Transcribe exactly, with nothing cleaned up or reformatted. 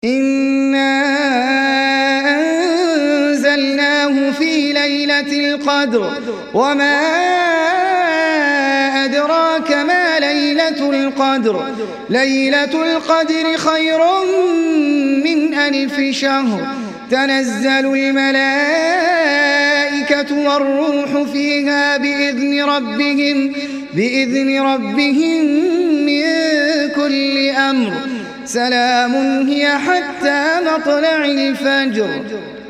إنا أنزلناه في ليلة القدر وما أدراك ما ليلة القدر ليلة القدر خير من ألف شهر تنزل الملائكة والروح فيها بإذن ربهم بإذن ربهم من كل أمر سلام هي حتى مطلع الفجر.